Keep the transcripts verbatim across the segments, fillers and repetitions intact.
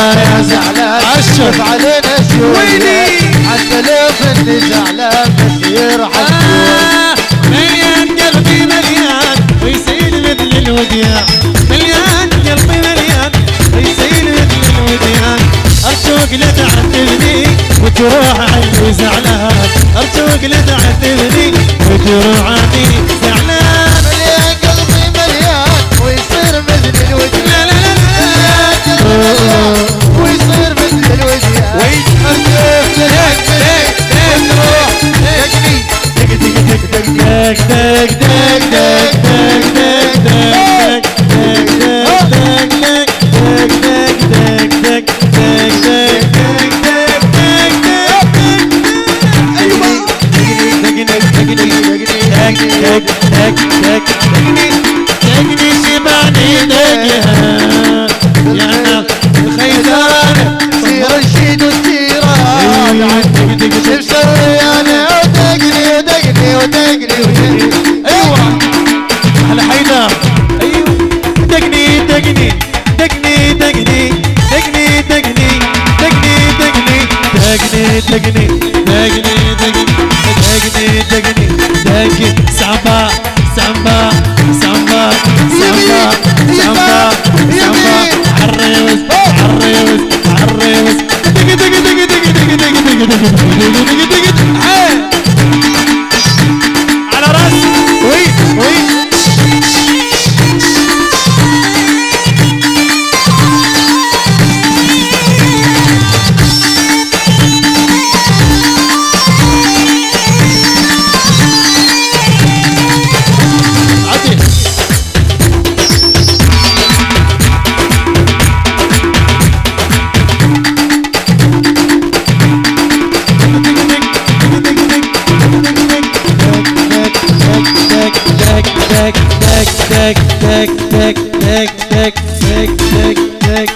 يا زعلان شوف علينا شوية حتى لو اني زعلان بس يرحم شوية. مليان قلبي مليان ويسيل مثل الوديان، مليان قلبي مليان ويسيل مثل الوديان. ارجوك لا تعذبني وتروح عني زعلان، ارجوك لا تعذبني وتروح عني زعلان. مليان قلبي مليان ويصير مثل الوديان، لا لا لا لا ويصير مثل الوديان. ارجوك لا تعذبني وتروح دقني دق دق دق دق دق دق دق دق دق دقني شبعني دقها يا ناس الخيزانة سير الشيد والسيران شو مسوي انا ودقني ودقني ودقني ودقني. ايوه على حيدر ايوه دقني دقني دقني دقني دقني دقني دقني دقني دقني دقني دقني دقني دقني دقني سامبا سامبا سامبا سامبا سامبا سامبا عالريوس عالريوس عالريوس دقي دقي دقي دقي دقي دقي دقي دقي دقي دقي على راسي وي وي تك تك تك تك تك تك تك تك.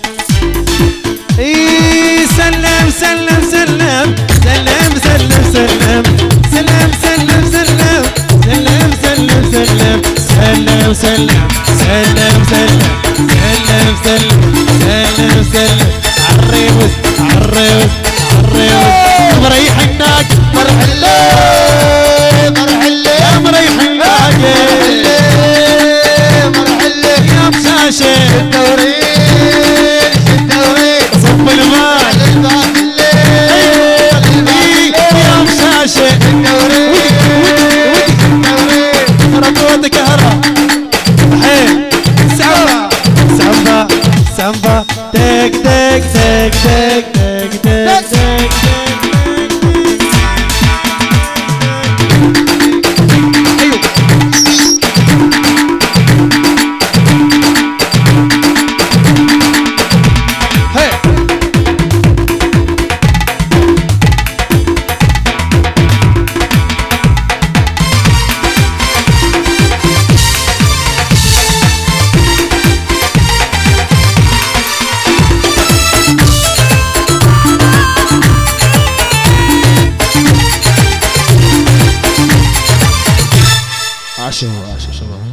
اي سلم سلم سلم سلم سلم سلم سلم سلم سلم سلم سلم سلم سلم سلم سلم سلم سلم سلم سلم عالريوس عالريوس عالريوس مريح هناك مرحلة مرحلة يا مريح هناك الدورين الدورين صب الماء يا مشاشة الدورين الدورين ربوتك كهرة حين سامبا سامبا سامبا تك تك تك تك تك تك تك عشرة عشرة شباب.